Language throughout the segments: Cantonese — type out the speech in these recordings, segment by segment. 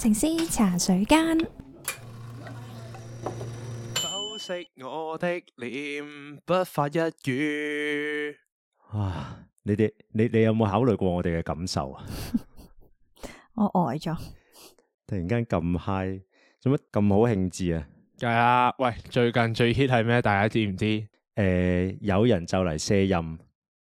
城師茶水間， 剖析我的臉，不發一語。 啊！你有冇考慮過我哋嘅感受啊？ 我呆咗， 突然間咁 high，做乜咁好興致啊？ 係啊，喂，最近最 hit 係咩？大家知唔知？ 有人就嚟卸任。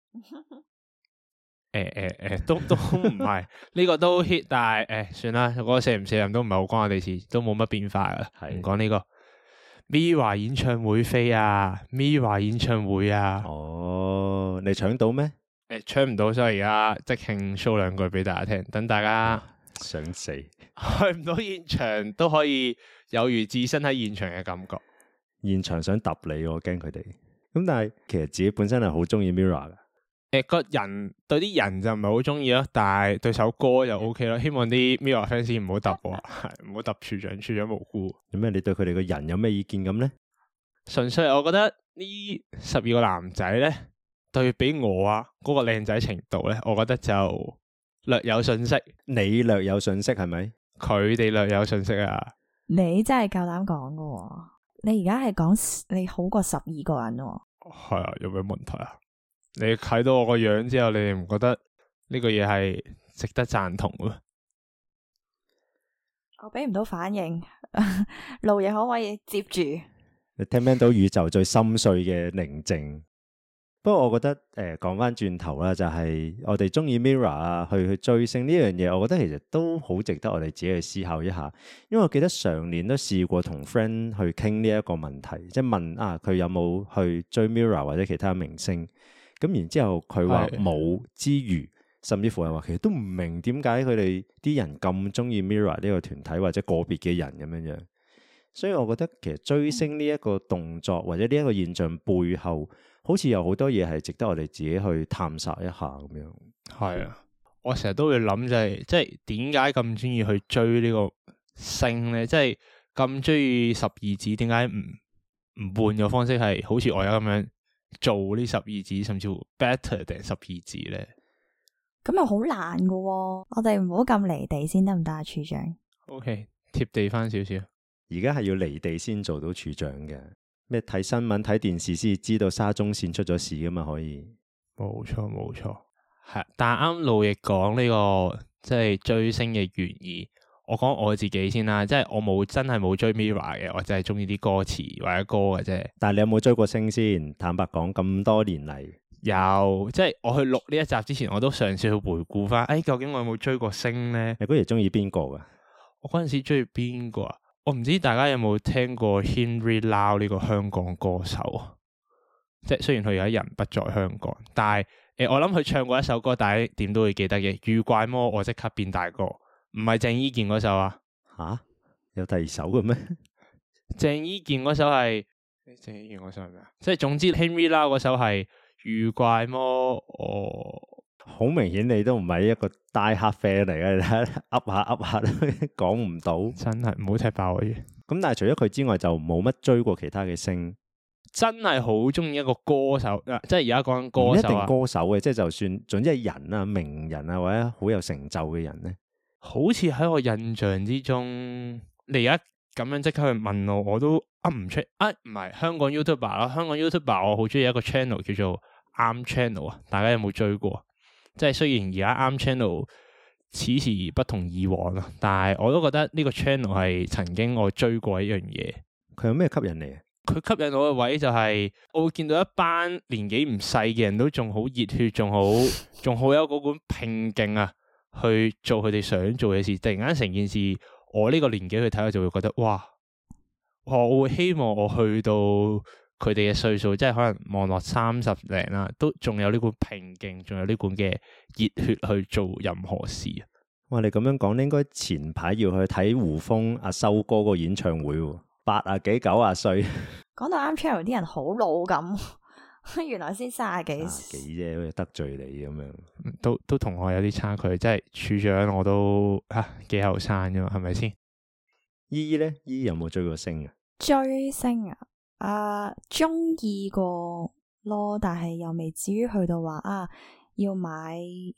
都唔係呢個都 hit，但係算啦，嗰個卸唔卸任都唔係好關我哋事，都冇乜變化噶。唔講呢個 Mirror 演唱會飛啊 ，Mirror 演唱會啊。 哦，你搶到咩？ 搶唔到，所以而家即興 show 兩句俾大家聽，等大家想死， 去唔到現場都可以有如置身喺現場嘅感覺。 現場想揼你，我驚佢哋。咁但係其實自己本身係好中意 Mirror 噶。 個人對啲人就唔係好中意咯，但係對首歌就 OK 咯。希望啲 Mirror fans 唔好揼我，係唔好揼處長無辜。 有咩？你對佢哋個人有咩意見咁咧？ 純粹我覺得呢12個男仔咧，對比我啊嗰個靚仔程度咧，我覺得就略有遜色。 你略有遜色係咪？ 佢哋略有遜色啊！ 你真係夠膽講噶？你而家係講你好過12個人喎？ 係啊，有咩問題啊？你睇到我個樣之後，你哋唔覺得呢個嘢係值得贊同嘅？ 我俾唔到反應，路嘢可唔可以接住？ 你聽唔聽到宇宙最深邃嘅寧靜？不過我覺得講翻轉頭啦，就係我哋中意 Mirror 啊，去追星呢樣嘢，我覺得其實都好值得我哋自己去思考一下。因為我記得上年都試過同 friend 去傾呢一個問題，即係問啊佢有冇去追 Mirror 或者其他明星。咁然之後佢話冇之餘，甚至乎係話其實都唔明點解佢哋啲人咁中意 Mirror 呢個團體或者個別嘅人咁樣樣。所以我覺得其實追星呢一個動作或者呢一個現象背後，好似有好多嘢係值得我哋自己去探索一下咁樣。 係啊，我成日都會諗就係，即係點解咁中意去追呢個星咧？即係咁中意十二指，點解唔換嘅方式係好似我而家咁樣做呢十二指，甚至乎 better 定十二指咧？ 咁又好難噶，我哋唔好咁離地先得唔得啊？處長 ，OK， 貼地翻少少。 而家係要離地先做到處長嘅，咩睇新聞睇電視先知道沙中線出咗事噶嘛？可以， 冇錯，係。但係啱路易講呢個即係追星嘅原意，我講我自己先啦，即係我真係冇追 Mirror 嘅，我就係中意啲歌詞或者歌嘅啫。 但係你有冇追過星先？坦白講，咁多年嚟， 有，即係我去錄呢一集之前，我都嘗試去回顧翻，究竟我有冇追過星咧？ 你嗰時中意邊個噶？ 我嗰陣時中意邊個啊？我唔知大家有冇聽過 Henry Lau 呢個香港歌手啊？即係雖然佢而家人不在香港，但係我諗佢唱過一首歌，大家點都會記得嘅。遇怪魔，我即刻變大個，唔係鄭伊健嗰首啊？ 吓，有第二首嘅咩？ 鄭伊健嗰首係鄭伊健嗰首係咩啊？即係總之 Henry Lau 嗰首係遇怪魔， 好明顯你都唔係一個 die hard fan 嚟嘅，你睇噏下都講唔到， 真係唔好踢爆我嘅。 咁但係除咗佢之外，就冇乜追過其他嘅星。 真係好中意一個歌手，即係而家講緊歌手啊，唔一定歌手嘅，即係就算總之係人啊、名人啊或者好有成就嘅人咧， 好似喺我印象之中，你而家咁樣即刻去問我，我都噏唔出。唔係香港 YouTuber 啦，香港 YouTuber 我好中意一個 channel 叫做啱 channel 啊，大家有冇追過？即係雖然而家啱 channel 此時不同以往啊，但係我都覺得呢個 channel 係曾經我追過一樣嘢。 佢有咩吸引你啊？ 佢吸引我嘅位就係我會見到一班年紀唔細嘅人都仲好熱血，仲好有嗰股拼勁啊，去做佢哋想做嘅事。突然間成件事，我呢個年紀去睇，我就會覺得哇，我會希望我去到佢哋嘅歲數，即係可能望落30零啦，都仲有呢股拼勁，仲有呢股嘅熱血去做任何事啊！ 哇，你咁樣講，你應該前排要去睇胡楓阿修哥個演唱會喎。80幾90歲， 講到啱 channel 啲人好老咁，原來先30幾啫，好似得罪你咁樣， 都同我有啲差距。即係處長我都幾後生啫嘛，係咪先？ 姨咧，姨有冇追過星啊？ 追星啊，中意過咯，但係又未至於去到話要買要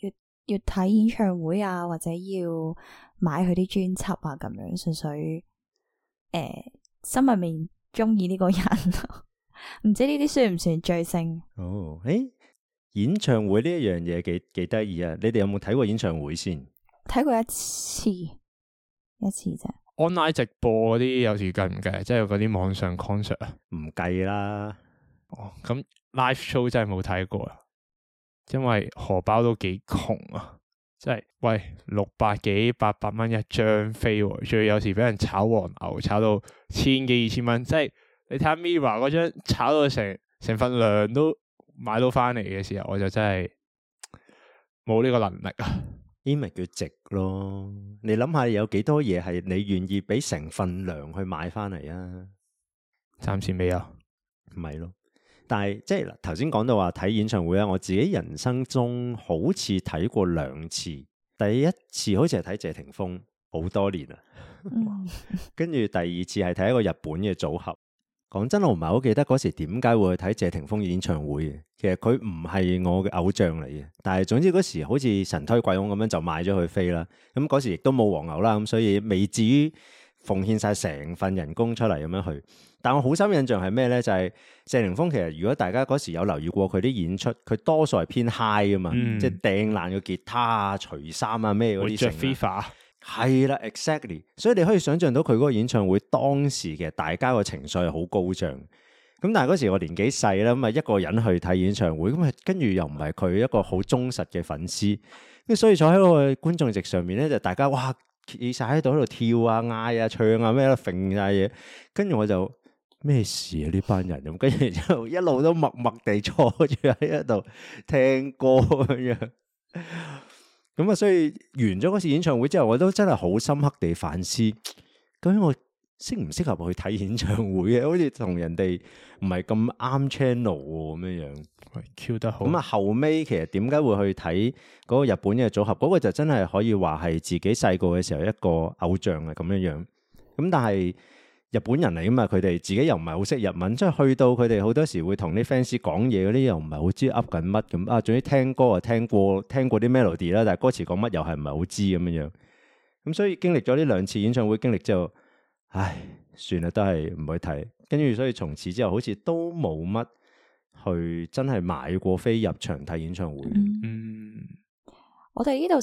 要睇演唱會啊，或者要買佢啲專輯啊，咁樣純粹心入面中意呢個人，唔知呢啲算唔算追星？ 哦，演唱會呢一樣嘢幾得意啊！你哋有冇睇過演唱會先？ 睇過一次啫。 online 直播嗰啲有時計唔計？即係嗰啲網上 concert 啊？唔計啦。 哦，咁 live show 真係冇睇過啦，因為荷包都幾窮啊！即係喂600幾800蚊一張飛，仲要有時俾人炒黃牛，炒到1000幾2000蚊。即係你睇下 Mirror 嗰張炒到成份糧都買到翻嚟嘅時候，我就真係冇呢個能力啊！ 呢咪叫值咯？你諗下有幾多嘢係你願意俾成份糧去買翻嚟啊？ 暫時未有， 唔係咯。但係即係頭先講到話睇演唱會啊，我自己人生中好似睇過2次。第一次好似係睇謝霆鋒，好多年啦。跟住第二次係睇一個日本嘅組合。講真，我唔係好記得嗰時點解會去睇謝霆鋒嘅演唱會嘅。其實佢唔係我嘅偶像嚟嘅，但係總之嗰時好似神推鬼擁咁樣就買咗佢飛啦。咁嗰時亦都冇黃牛啦，咁所以未至於奉獻晒成份人工出嚟咁樣去。但我好深印象係咩呢？就係謝霆鋒其實如果大家嗰時有留意過佢啲演出，佢多數係偏 high 噶嘛，即係掟爛個吉他啊、除衫啊咩嗰啲成。着 FIFA 係啦 ，exactly。所以你可以想象到佢嗰個演唱會當時嘅大家個情緒係好高漲。咁但係嗰時我年紀細啦，咁啊一個人去睇演唱會，咁啊跟住又唔係佢一個好忠實嘅粉絲，咁所以坐喺個觀眾席上面咧，就大家哇企晒喺度喺度跳啊、嗌啊、唱啊咩咯，揈晒嘢，跟住我就咩事啊呢班人咁，跟住就一路都默默地坐住喺度聽歌咁樣。咁啊，所以完咗嗰次演唱會之後，我都真係好深刻地反思，究竟我適唔適合去睇演唱會嘅？好似同人哋唔係咁啱 channel 咁樣樣。 喂，Q 得好。咁啊，後尾其實點解會去睇嗰個日本嘅組合？嗰個就真係可以話係自己細個嘅時候一個偶像啊咁樣樣。咁但係日本人嚟噶嘛，佢哋自己又唔係好識日文，即係去到佢哋好多時會同啲 fans 講嘢嗰啲，又唔係好知噏緊乜咁啊。總之聽歌啊，聽過啲 melody 啦，但係歌詞講乜又係唔係好知咁樣樣。咁所以經歷咗呢2次演唱會經歷之後，唉，算啦，都係唔去睇。跟住所以從此之後，好似都冇乜去真係買過飛入場睇演唱會。 我哋呢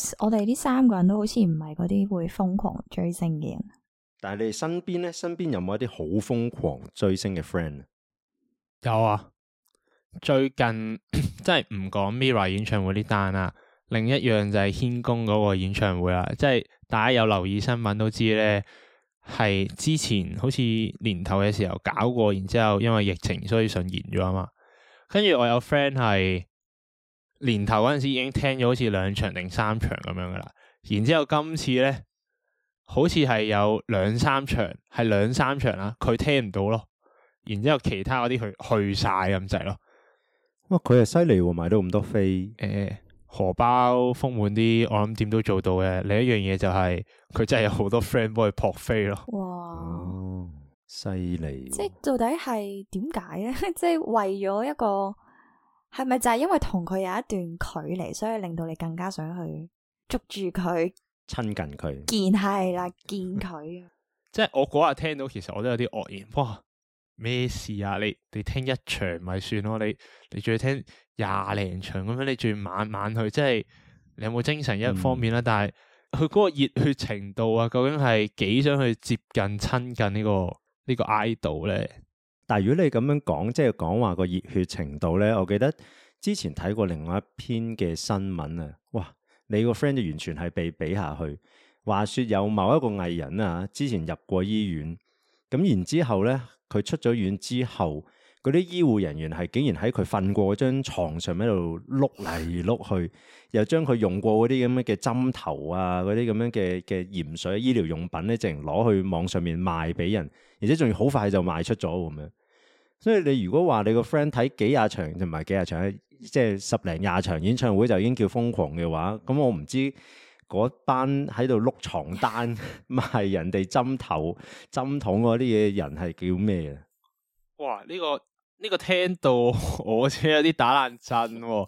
3個人都好似唔係嗰啲會瘋狂追星嘅人。 但係你哋身邊咧，身邊有冇一啲好瘋狂追星嘅 friend？ 有啊，最近即係唔講 Mirror 演唱會呢單啦，另一樣就係軒公嗰個演唱會啦。即係大家有留意新聞都知咧，係之前好似年頭嘅時候搞過，然之後因為疫情所以順延咗啊嘛。跟住我有 friend 係年頭嗰陣時已經聽咗好似2場定3場咁樣噶啦，然之後今次咧，好似係有2-3場，係2-3場啦，佢聽唔到咯，然之後其他嗰啲去晒咁滯咯。 哇，佢係犀利喎，買到咁多飛。 荷包豐滿啲，我諗點都做到嘅。另一樣嘢就係佢真係有好多 friend 幫佢撲飛咯。 哇，犀利！ 即係到底係點解咧？即係為咗一個，係咪就係因為同佢有一段距離，所以令到你更加想去捉住佢？ 親近佢， 見佢。 即係我嗰日聽到，其實我都有啲愕然。哇，咩事啊？你聽一場咪算咯，你仲要聽20零場咁樣，你仲要晚晚去，即係你有冇精神一方面啦。但係佢嗰個熱血程度啊，究竟係幾想去接近親近呢個 idol 咧？ 但係如果你咁樣講，即係講話個熱血程度咧，我記得之前睇過另外一篇嘅新聞啊，哇！你個 friend 就完全係被比下去。話說有某一個藝人啊，之前入過醫院，咁然之後咧，佢出咗院之後，嗰啲醫護人員係竟然喺佢瞓過嗰張床上喺度碌嚟碌去，又將佢用過嗰啲咁樣嘅針頭啊，嗰啲咁樣嘅鹽水醫療用品咧，淨攞去網上面賣俾人，而且仲要好快就賣出咗咁樣。所以你如果話你個 friend 睇幾廿場，唔係幾廿場，即係10零20場演唱會就已經叫瘋狂嘅話，咁我唔知嗰班喺度碌床單賣人哋針頭針筒嗰啲嘢人係叫咩啊？ 哇！呢個聽到我真係有啲打冷震喎。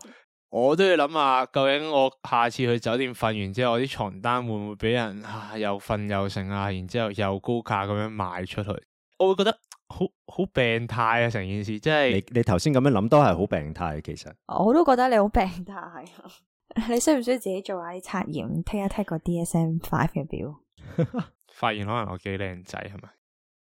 我都要諗下，究竟我下次去酒店瞓完之後，我啲床單會唔會俾人又瞓又剩啊？然之後又高價咁樣賣出去，我會覺得好病態啊！成件事即係你頭先咁樣諗都係好病態，其實我都覺得你好病態。你需唔需要自己做下啲測驗，take 一 take 個 DSM-5 嘅表？ 發現可能我幾靚仔係咪？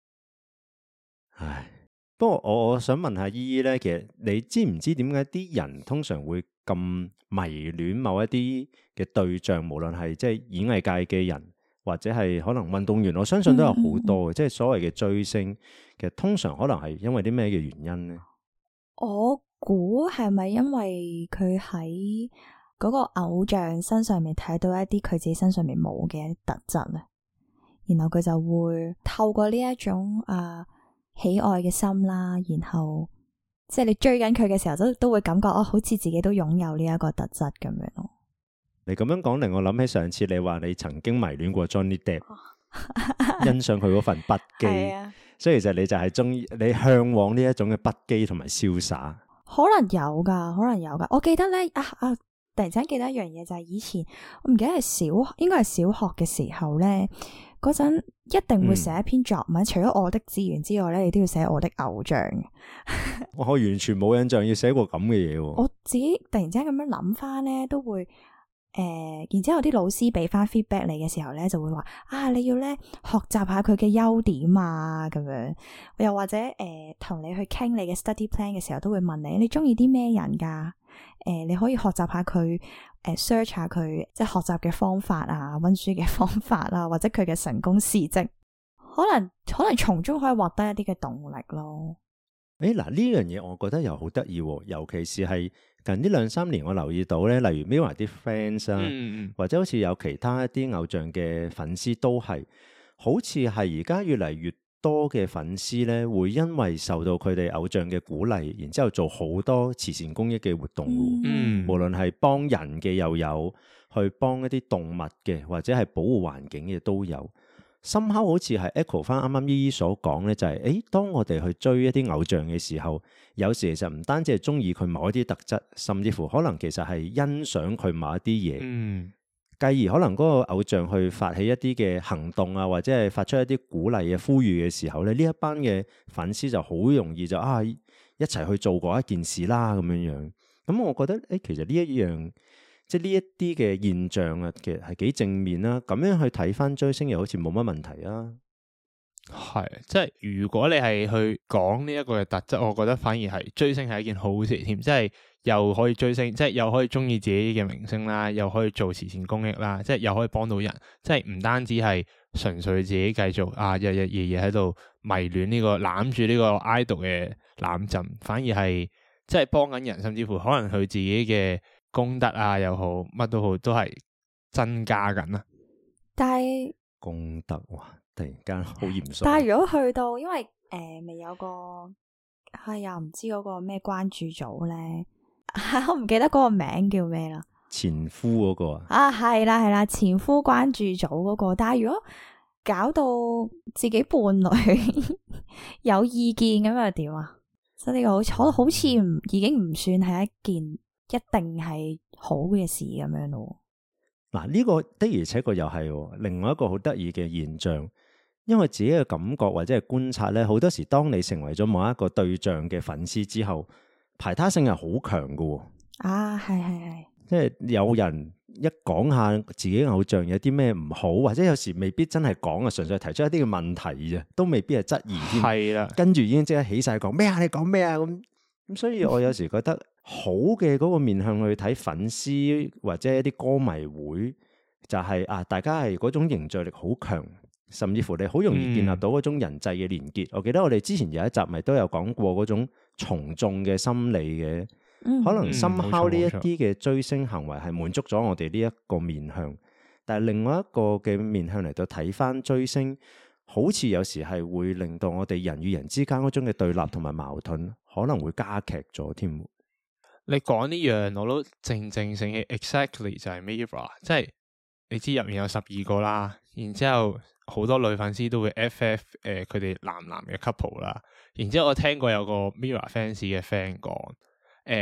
唉，不過我想問下依依咧，其實你知唔知點解啲人通常會咁迷戀某一啲嘅對象，無論係即係演藝界嘅人，或者係可能運動員，我相信都有好多嘅，即係所謂嘅追星，其實通常可能係因為啲咩嘅原因呢？ 我估係咪因為佢喺嗰個偶像身上面睇到一啲佢自己身上面冇嘅特質咧，然後佢就會透過呢一種喜愛嘅心啦，然後即係你追緊佢嘅時候都會感覺好似自己都擁有呢一個特質咁樣咯。 你咁樣講令我諗起上次你話你曾經迷戀過 Johnny Depp，欣賞佢嗰份不羈，所以其實你就係中意你向往呢一種嘅不羈同埋瀟灑。可能有噶，我記得咧突然間記得一樣嘢，就係以前我唔記得係應該係小學嘅時候咧，嗰陣一定會寫一篇作文，除咗我的志願之外咧，你都要寫我的偶像。我完全冇印象要寫過咁嘅嘢。我自己突然之間咁樣諗翻咧，都會然之後啲老師俾翻 feedback 你嘅時候咧，就會話你要咧學習下佢嘅優點啊，咁樣。又或者同你去傾你嘅 study plan 嘅時候，都會問你中意啲咩人噶？你可以學習下佢，search 下佢即係學習嘅方法啊，溫書嘅方法啊，或者佢嘅成功事蹟，可能從中可以獲得一啲嘅動力咯。嗱，呢樣嘢我覺得又好得意，尤其是係近呢2-3年我留意到咧，例如 Mirror 啲 fans 啊，或者好似有其他一啲偶像嘅粉絲都係，好似係而家越嚟越多嘅粉絲咧，會因為受到佢哋偶像嘅鼓勵，然之後做好多慈善公益嘅活動。無論係幫人嘅又有，去幫一啲動物嘅，或者係保護環境嘅都有。somehow好似係 echo 翻啱啱依依所講咧，就係當我哋去追一啲偶像嘅時候，有時其實唔單止係中意佢某一啲特質，甚至乎可能其實係欣賞佢某一啲嘢。繼而可能嗰個偶像去發起一啲嘅行動啊，或者係發出一啲鼓勵嘅呼籲嘅時候咧，呢一班嘅粉絲就好容易就一齊去做過一件事啦咁樣樣。咁我覺得其實呢一樣即係呢一啲嘅現象啊，其實係幾正面啦。咁樣去睇翻追星又好似冇乜問題啊。 係，即係如果你係去講呢一個嘅特質，我覺得反而係追星係一件好事添，即係又可以追星，即係又可以中意自己嘅明星啦，又可以做慈善公益啦，即係又可以幫到人，即係唔單止係純粹自己繼續日日夜夜喺度迷戀呢個攬住呢個 idol 嘅攬枕，反而係即係幫緊人，甚至乎可能佢自己嘅功德又好，乜都好，都係增加緊啦。但係功德突然間好嚴肅。但係如果去到，因為未有個又唔知嗰個咩關注組咧，我唔記得嗰個名叫咩啦。前夫嗰個係啦，前夫關注組嗰個。但係如果搞到自己伴侶有意見咁又點啊？所以呢個好似已經唔算係一件一定係好嘅事咁樣咯。嗱，呢個的而且確又係另外一個好得意嘅現象。因為自己嘅感覺或者係觀察咧，好多時當你成為咗某一個對象嘅粉絲之後，排他性係好強㗎。係，即係有人一講下自己偶像有啲咩唔好，或者有時未必真係講純粹提出一啲嘅問題啫，都未必係質疑添。係啦，跟住已經即刻起晒講咩啊？你講咩啊？咁所以我有時覺得好嘅嗰個面向去睇粉絲或者一啲歌迷會，就係大家係嗰種凝聚力好強。甚至乎你好容易建立到嗰種人際嘅連結。我記得我哋之前有一集咪都有講過嗰種從眾嘅心理嘅，可能somehow呢一啲嘅追星行為係滿足咗我哋呢一個面向，但係另外一個嘅面向嚟到睇翻追星，好似有時係會令到我哋人與人之間嗰種嘅對立同埋矛盾可能會加劇咗添。你講呢樣我都正醒起 exactly 就係 Mirror， 即係你知入面有12個啦，然之後好多女粉絲都會 FF 佢哋男嘅 couple 啦，然之後我聽過有個 Mirror fans 嘅 friend 講，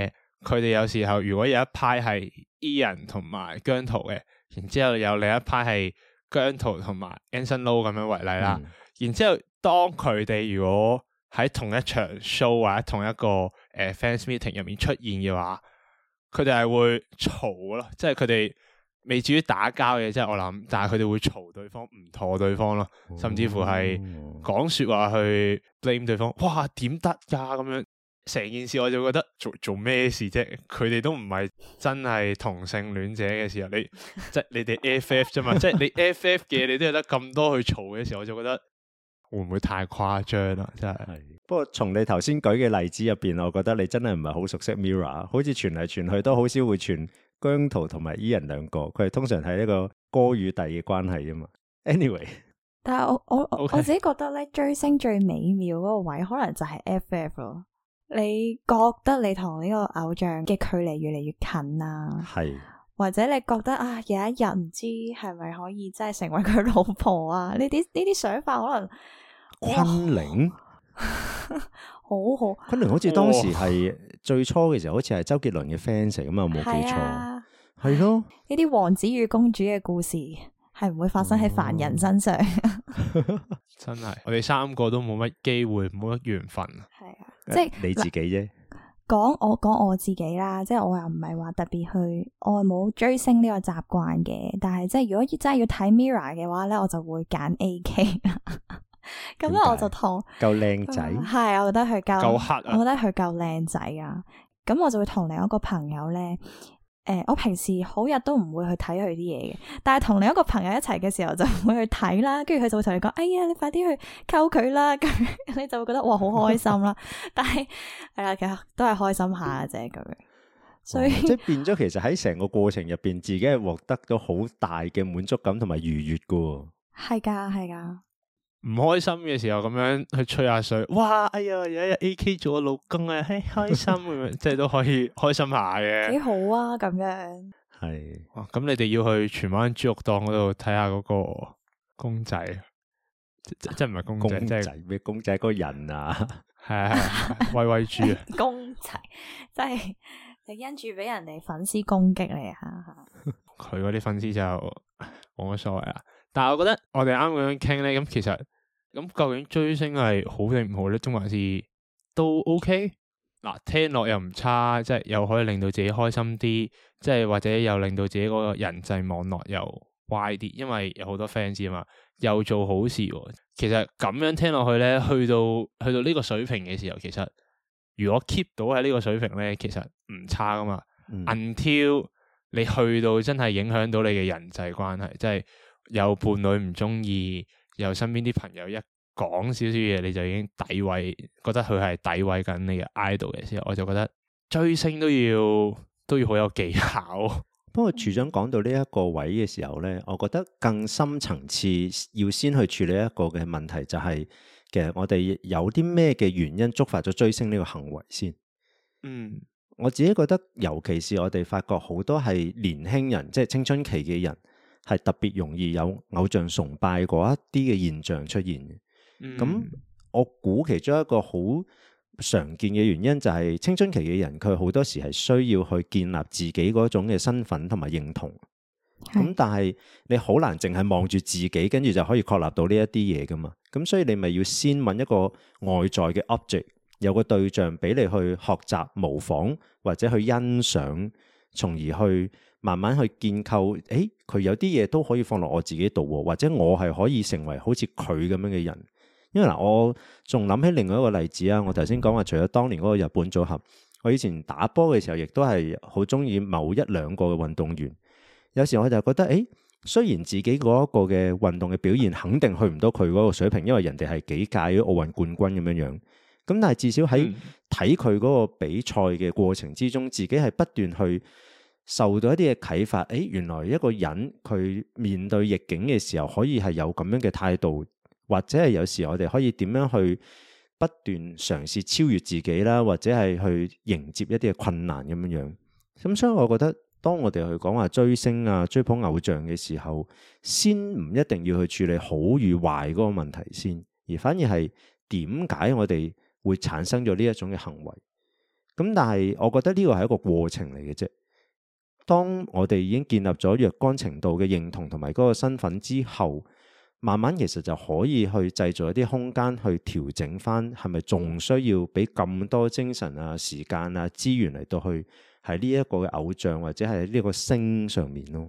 佢哋有時候如果有一派係 E 人同埋姜濤嘅，然之後有另一派係姜濤同埋 Anson Lo 咁樣為例啦。然之後當佢哋如果喺同一場 show 或者同一個fans meeting 入面出現嘅話，佢哋係會嘈咯，即係佢哋未至於打交嘅，即係我諗，但係佢哋會嘈對方，唔妥對方咯，甚至乎係講說話去 blame 對方。哇，點得噶咁樣？成件事我就覺得做咩事啫？佢哋都唔係真係同性戀者嘅時候，即係你哋 FF 啫嘛，即係你 FF 嘅你都有得咁多去嘈嘅時候，我就覺得會唔會太誇張啦？真係。 不過從你頭先舉嘅例子入邊，我覺得你真係唔係好熟悉 Mirror， 好似傳嚟傳去都好少會傳姜濤同埋 Ian 兩個，佢係通常係一個哥與弟嘅關係啊嘛。Anyway， 但係我 Okay. 我自己覺得咧，追星最美妙嗰個位，可能就係 FF 咯。你覺得你同呢個偶像嘅距離越嚟越近啊？係，或者你覺得啊，有一日唔知係咪可以真係成為佢老婆啊？呢啲想法可能昆凌好， 昆凌好似當時係最初嘅時候，好似係周杰倫嘅 fans 嚟，咁啊冇記錯，係咯。呢啲王子與公主嘅故事係唔會發生喺凡人身上。 真係，我哋三個都冇乜機會，冇乜緣分。 係啊，即係你自己啫。 講我自己啦，即係我又唔係話特別去，我係冇追星呢個習慣嘅。但係即係如果真係要睇 Mirror 嘅話咧，我就會揀 AK。咁咧我就同夠靚仔， 係我覺得佢夠黑啊， 我覺得佢夠靚仔啊。咁我就會同另一個朋友咧。我平時好日都唔會去睇佢啲嘢嘅，但係同另一個朋友一齊嘅時候就會去睇啦，跟住佢就會同你講：哎呀，你快啲去溝佢啦！咁你就會覺得哇，好開心啦。但係係啦，其實都係開心下啫咁樣。所以即係變咗，其實喺成個過程入邊，自己係獲得咗好大嘅滿足感同埋愉悅噶。係噶。 唔開心嘅時候咁樣去吹下水，哇！哎呀，有一日 AK 做我老公啊，嘿，開心咁樣，即係都可以開心下嘅。幾好啊，咁樣。 係。 哇！咁你哋要去荃灣豬肉檔嗰度睇下嗰個公仔，即係唔係公仔，即係咩公仔？嗰個人啊， 係威威豬啊！ 公仔，即係你因住俾人哋粉絲攻擊你啊！ 佢嗰啲粉絲就冇乜所謂啦。但係我覺得我哋啱咁樣傾咧，咁其實咁究竟追星係好定唔好咧？定還是都 OK？嗱，聽落又唔差，即係又可以令到自己開心啲，即係或者又令到自己嗰個人際網絡又 wide 啲，因為有好多 fans 啊嘛，又做好事喎。其實咁樣聽落去咧，去到呢個水平嘅時候，其實如果 keep 到喺呢個水平咧，其實唔差噶嘛。Until 你去到真係影響到你嘅人際關係，即係。有伴侶唔中意，有身邊啲朋友一講少少嘢，你就已經詆毀，覺得佢係詆毀緊你嘅 idol 嘅時候，我就覺得追星都要好有技巧。 不過處長講到呢一個位嘅時候咧，我覺得更深層次要先去處理一個嘅問題，就係其實我哋有啲咩嘅原因觸發咗追星呢個行為先。我自己覺得，尤其是我哋發覺好多係年輕人，即係青春期嘅人。係特別容易有偶像崇拜嗰一啲嘅現象出現嘅。咁我估其中一個好常見嘅原因就係青春期嘅人，佢好多時係需要去建立自己嗰種嘅身份同埋認同。咁但係你好難淨係望住自己，跟住就可以確立到呢一啲嘢噶嘛。咁所以你咪要先揾一個外在嘅 object，有個對象俾你去學習模仿或者去欣賞，從而去。慢慢去建構，佢有啲嘢都可以放落我自己度，或者我係可以成為好似佢咁樣嘅人。因為嗱，我仲諗起另外一個例子啊。我頭先講話，除咗當年嗰個日本組合，我以前打波嘅時候，亦都係好中意某一兩個嘅運動員。有時我就覺得，雖然自己嗰一個嘅運動嘅表現肯定去唔到佢嗰個水平，因為人哋係幾屆奧運冠軍咁樣樣。咁但係至少喺睇佢嗰個比賽嘅過程之中，自己係不斷去。受到一啲嘅啟發，原來一個人佢面對逆境嘅時候，可以係有咁樣嘅態度，或者係有時我哋可以點樣去不斷嘗試超越自己啦，或者係去迎接一啲嘅困難咁樣樣。咁所以我覺得，當我哋去講話追星啊、追捧偶像嘅時候，先唔一定要去處理好與壞嗰個問題先，而反而係點解我哋會產生咗呢一種嘅行為。 咁但係我覺得呢個係一個過程嚟嘅啫。當我哋已經建立咗若干程度嘅認同同埋嗰個身份之後，慢慢其實就可以去製造一啲空間去調整翻，係咪仲需要俾咁多精神啊、時間啊、資源嚟到去喺呢一個嘅偶像或者係呢個星上面咯。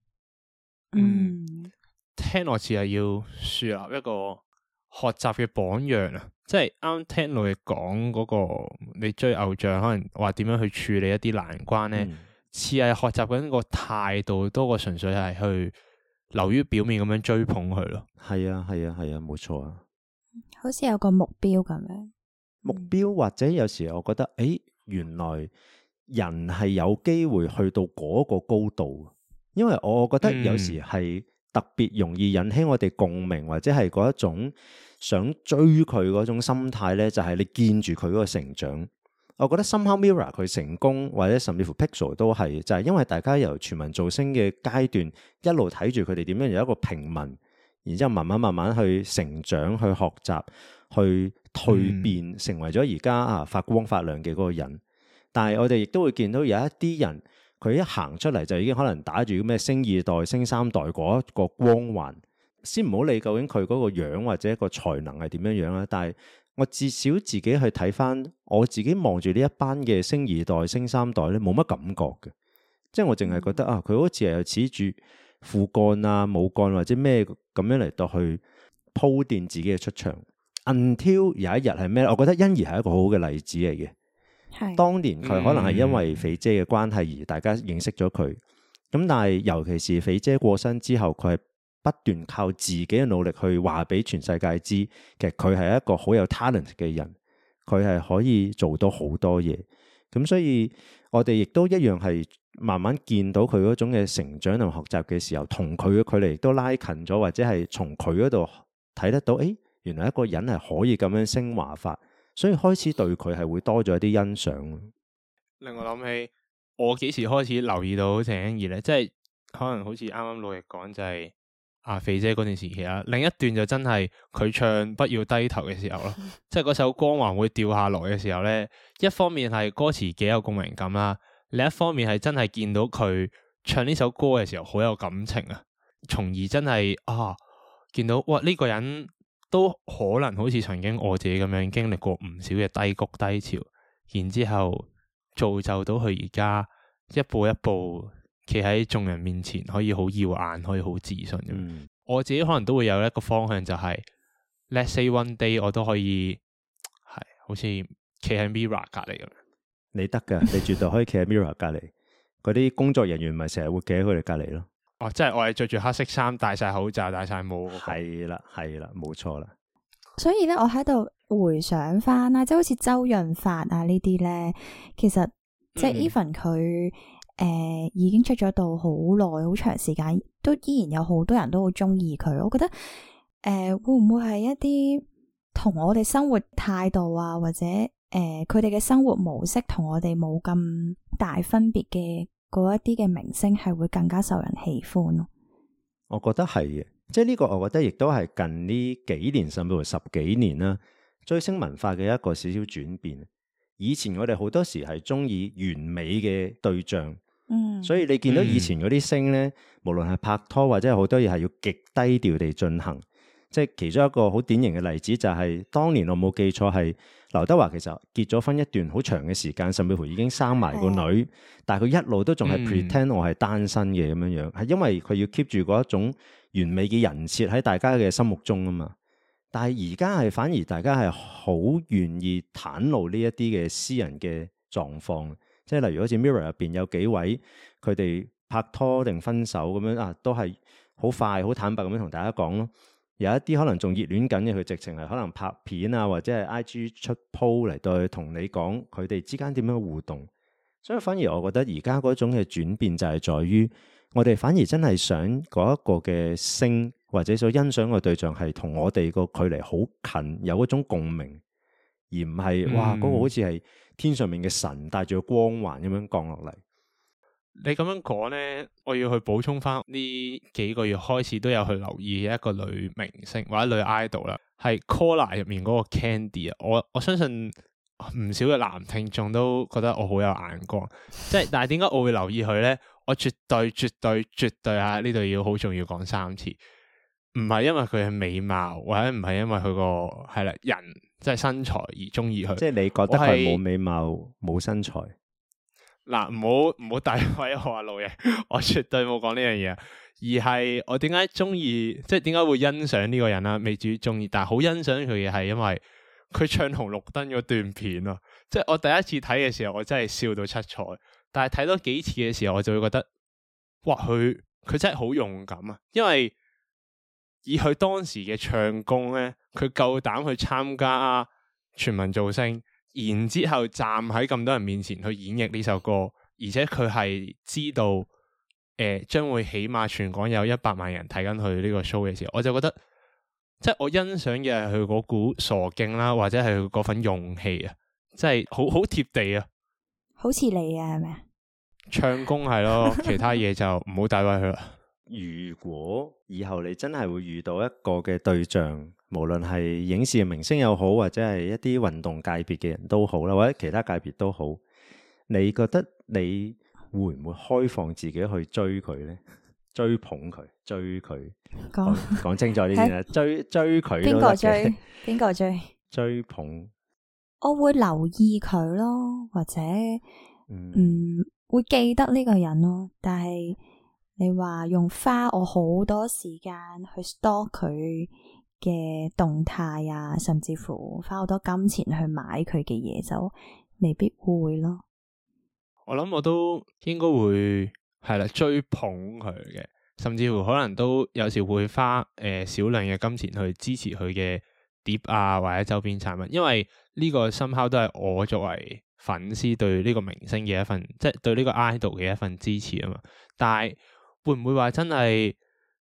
聽落似係要樹立一個學習嘅榜樣啊！即係啱聽到你講嗰個，你追偶像可能話點樣去處理一啲難關咧，似係學習緊個態度多過純粹係去流於表面咁樣追捧佢咯。係啊，冇錯啊。 好似有個目標咁樣， 目標或者有時我覺得，原來人係有機會去到嗰個高度，因為我覺得有時係特別容易引起我哋共鳴，或者係嗰一種想追佢嗰種心態咧，就係你見住佢嗰個成長。我覺得 somehow Mirror 佢成功，或者甚至乎 Pixel 都係，就係因為大家由全民造星嘅階段一路睇住佢哋點樣由一個平民，然之後慢慢去成長、去學習、去蛻變，成為咗而家發光發亮嘅嗰個人。但係我哋亦都會見到有一啲人，佢一行出嚟就已經可能打住咩星二代、星三代嗰一個光環。先唔好理究竟佢嗰個樣或者個才能係點樣樣啦，但係我至少自己去睇翻，我自己望住呢一班嘅星二代、星三代咧，冇乜感覺嘅，即係我淨係覺得佢好似係恃住父幹啊、母幹或者咩咁樣嚟到去鋪墊自己嘅出場。Until 有一日係咩？我覺得欣宜係一個好好嘅例子嚟嘅。係當年佢可能係因為肥姐嘅關係而大家認識咗佢，咁但係尤其是肥姐過身之後，佢係不斷靠自己嘅努力去話俾全世界知，其實佢係一個好有 talent 嘅人，佢係可以做到好多嘢。咁所以我哋亦都一樣係慢慢見到佢嗰種嘅成長同學習嘅時候，同佢嘅距離亦都拉近咗，或者係從佢嗰度睇得到，原來一個人係可以咁樣升華法，所以開始對佢係會多咗一啲欣賞。 令我諗起我幾時開始留意到鄭欣宜咧，即係可能好似啱啱老奕講就係肥姐嗰段時期啦，另一段就真係佢唱不要低頭嘅時候咯，即係嗰首光環會掉下來嘅時候咧，一方面係歌詞幾有共鳴感啦，另一方面係真係見到佢唱呢首歌嘅時候好有感情啊，從而真係見到哇呢個人都可能好似曾經我自己咁樣經歷過唔少嘅低谷低潮，然之後造就到佢而家一步一步企喺眾人面前，可以好耀眼，可以好自信咁。我自己可能都會有一個方向，就係 Let's say one day 我都可以係好似企喺 Mirror 隔籬咁樣。 你得噶，你絕對可以企喺 Mirror 隔籬。嗰啲工作人員咪成日會企喺佢哋隔籬咯。 即係我係着住黑色衫，戴晒口罩，戴晒帽。 係啦，冇錯啦。 所以咧，我喺度回想翻啦，即係好似周潤發呢啲咧，其實即係 even 佢已經出咗道好耐，好長時間，都依然有好多人都好中意佢。我覺得會唔會係一啲同我哋生活態度啊，或者佢哋嘅生活模式同我哋冇咁大分別嘅嗰一啲嘅明星，係會更加受人喜歡咯？ 我覺得係嘅，即係呢個，我覺得亦都係近呢幾年甚至乎10幾年啦，追星文化嘅一個少少轉變。以前我哋好多時係中意完美嘅對象，所以你見到以前嗰啲星咧，無論係拍拖或者係好多嘢係要極低調地進行。即係其中一個好典型嘅例子就係當年我冇記錯係劉德華其實結咗婚一段好長嘅時間，甚至乎已經生埋個女，但係佢一路都仲係 pretend 我係單身嘅咁樣樣，係因為佢要 keep 住嗰一種完美嘅人設喺大家嘅心目中啊嘛。但係而家係反而大家係好願意袒露呢一啲嘅私人嘅狀況，即係例如好似 Mirror 入邊有幾位佢哋拍拖定分手咁樣都係好快好坦白咁樣同大家講咯。有一啲可能仲熱戀緊嘅，佢直情係可能拍片啊，或者係 IG 出 po 嚟對同你講佢哋之間點樣互動。所以反而我覺得而家嗰種嘅轉變就係在於，我哋反而真係想嗰一個嘅星或者所欣賞嘅對象係同我哋個距離好近，有嗰種共鳴，而唔係哇嗰個好似係天上面嘅神帶住個光環咁樣降落嚟。 你咁樣講呢，我要去補充翻呢幾個月開始都有去留意一個女明星或者女 idol 啦，係 Collar 入面嗰個 Candy 啊。我相信唔少嘅男聽眾都覺得我好有眼光，即係但係點解我會留意佢咧？我絕對啊！呢度要好重要講3次，唔係因為佢嘅美貌，或者唔係因為佢個係啦人即係身材而中意佢。 即係你覺得佢冇美貌冇身材？ 嗱，唔好詆毀我啊，老爺，我絕對冇講呢樣嘢，而係我點解中意，即係點解會欣賞呢個人啦？未至於中意，但係好欣賞佢嘅係因為佢唱紅綠燈嗰段片啊！即係我第一次睇嘅時候，我真係笑到七彩。但係睇多幾次嘅時候，我就會覺得，哇！佢真係好勇敢啊！因為以佢當時嘅唱功咧，佢夠膽去參加全民造星，然之後站喺咁多人面前去演繹呢首歌，而且佢係知道，將會起碼全港有100萬人睇緊佢呢個 show 嘅時候，我就覺得，即係我欣賞嘅係佢嗰股傻勁啦，或者係佢嗰份勇氣啊，即係好貼地啊！ 好似你啊，係咪啊？ 唱功係咯，其他嘢就唔好詆毀佢啦。 如果以後你真係會遇到一個嘅對象，無論係影視嘅明星又好，或者係一啲運動界別嘅人都好啦，或者其他界別都好，你覺得你會唔會開放自己去追佢呢？追捧佢，追佢，講清楚啲先啦。追佢，邊個追？ 邊個追？ 追捧。 我會留意佢咯，或者會記得呢個人咯。但係你話用花我好多時間去 stalk 佢嘅動態啊，甚至乎花好多金錢去買佢嘅嘢，就未必會咯。 我諗我都應該會係啦，追捧佢嘅，甚至乎可能都有時會花少量嘅金錢去支持佢嘅碟啊，或者周邊產品，因為呢個somehow都係我作為粉絲對呢個明星嘅一份，即係對呢個 idol 嘅一份支持啊嘛。但係會唔會話真係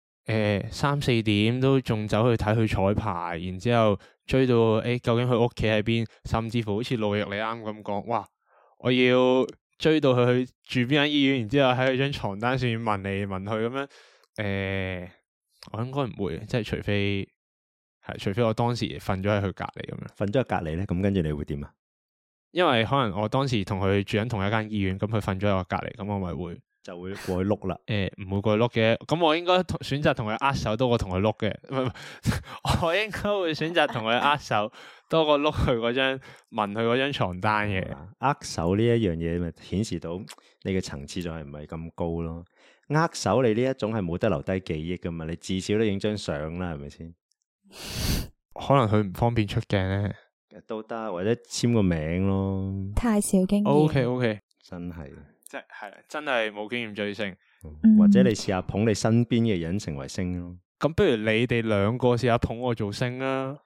3、4點都仲走去睇佢彩排，然之後追到究竟佢屋企喺邊，甚至乎好似路易你啱咁講，哇！我要追到佢去住邊間醫院，然之後喺佢張床單上面問嚟問去咁樣，我應該唔會，即係除非我當時瞓咗喺佢隔籬咁樣， 瞓咗喺隔籬咧，咁跟住你會點啊？ 因為可能我當時同佢住緊同一間醫院，咁佢瞓咗喺我隔籬，咁我咪會就會過去碌啦。 唔會過去碌嘅，咁我應該選擇同佢握手多過同佢碌嘅，我應該會選擇同佢握手多過碌佢嗰張聞佢嗰張床單嘅。 握手呢一樣嘢咪顯示到你嘅層次就係唔係咁高咯。握手你呢一種係冇得留低記憶噶嘛，你至少都影張相啦，係咪先？ 可能佢唔方便出鏡咧， 都得，或者簽個名咯。 太少經驗。 OK， 真係， 真係冇經驗追星。 或者你試下捧你身邊嘅人成為星咯。 咁不如你哋兩個試下捧我做星啦。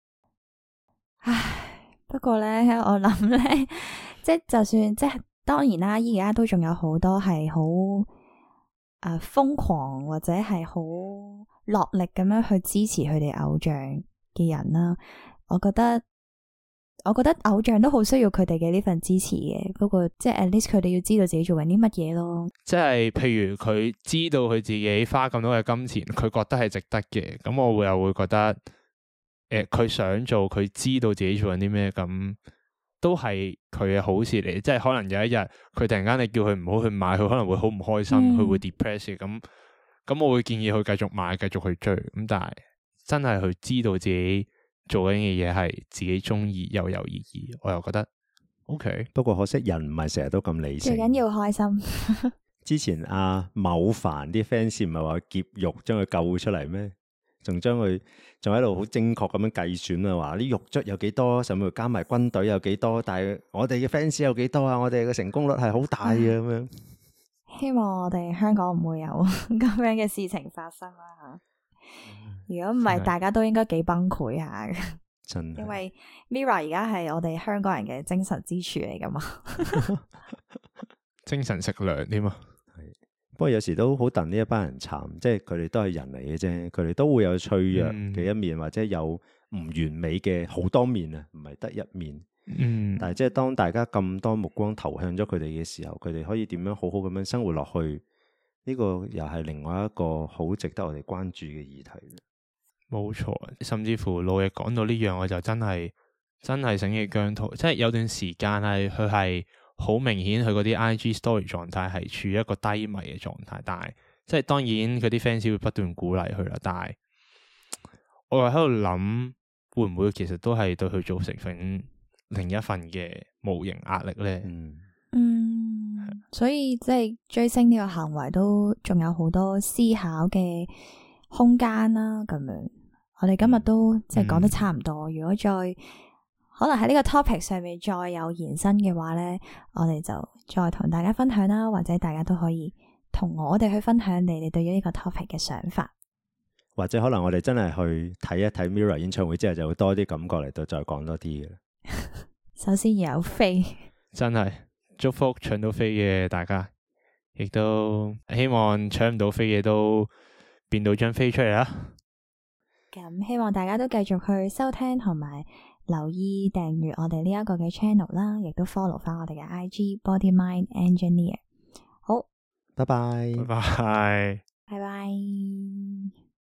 唉，不過咧，我諗咧，即係就算即係當然啦，而家都仲有好多係好瘋狂或者係好落力咁樣去支持佢哋偶像嘅人啦。我覺得偶像都好需要佢哋嘅呢份支持嘅。不過即係 at least 佢哋要知道自己做緊啲乜嘢咯。 即係譬如佢知道佢自己花咁多嘅金錢，佢覺得係值得嘅。咁我又會覺得，佢想做，佢知道自己做緊啲咩，咁都係佢嘅好事嚟。即係可能有一日佢突然間你叫佢唔好去買，佢可能會好唔開心，佢會 depress 嘅。咁我會建議佢繼續買，繼續去追。咁但係真係佢知道自己做緊嘅嘢係自己中意又有意義，我又覺得 OK。不過可惜人唔係成日都咁理性， 最緊要開心。 之前阿某凡啲 fans 唔係話劫獄將佢救出嚟咩？仲喺度好精確咁樣計算啊，話啲獄卒有幾多，甚至加埋軍隊有幾多，但係我哋嘅 fans 有幾多啊？我哋嘅成功率係好大嘅咁樣。 希望我哋香港唔會有咁樣嘅事情發生啦吓。如果唔係，大家都應該幾崩潰下嘅。 真係， 因為 Mirror 而家係我哋香港人嘅精神支柱嚟噶嘛。 精神食糧添啊。 不過有時都好戥呢一班人慘，即係佢哋都係人嚟嘅啫，佢哋都會有脆弱嘅一面，或者有唔完美嘅好多面啊，唔係得一面。但係即係當大家咁多目光投向咗佢哋嘅時候，佢哋可以點樣好好咁樣生活落去？呢個又係另外一個好值得我哋關注嘅議題。冇錯，甚至乎老爺講到呢樣，我就真係真係醒起姜濤，即係有段時間係佢係好明顯，佢嗰啲 IG story 狀態係處於一個低迷嘅狀態，但係即係當然佢啲 fans 會不斷鼓勵佢啦，但係我又喺度諗，會唔會其實都係對佢造成另一份嘅無形壓力咧？ 所以即係追星呢個行為都仲有好多思考嘅空間啦。咁樣，我哋今日都即係講得差唔多。如果再可能喺呢個 topic 上面再有延伸嘅話咧，我哋就再同大家分享啦，或者大家都可以同我哋去分享你哋對於呢個 topic 嘅想法。 或者可能我哋真係去睇一睇 Mirror 演唱會之後，就會多啲感覺嚟到再講多啲嘅。 首先要有飛，真係祝福搶到飛嘅大家，亦都希望搶唔到飛嘅都變到張飛出嚟啦。 咁希望大家都繼續去收聽同埋留意訂閱我哋呢一個嘅 channel 啦，亦都 follow 翻我哋嘅 IG Body Mind Engineer。好， 拜拜， 拜拜。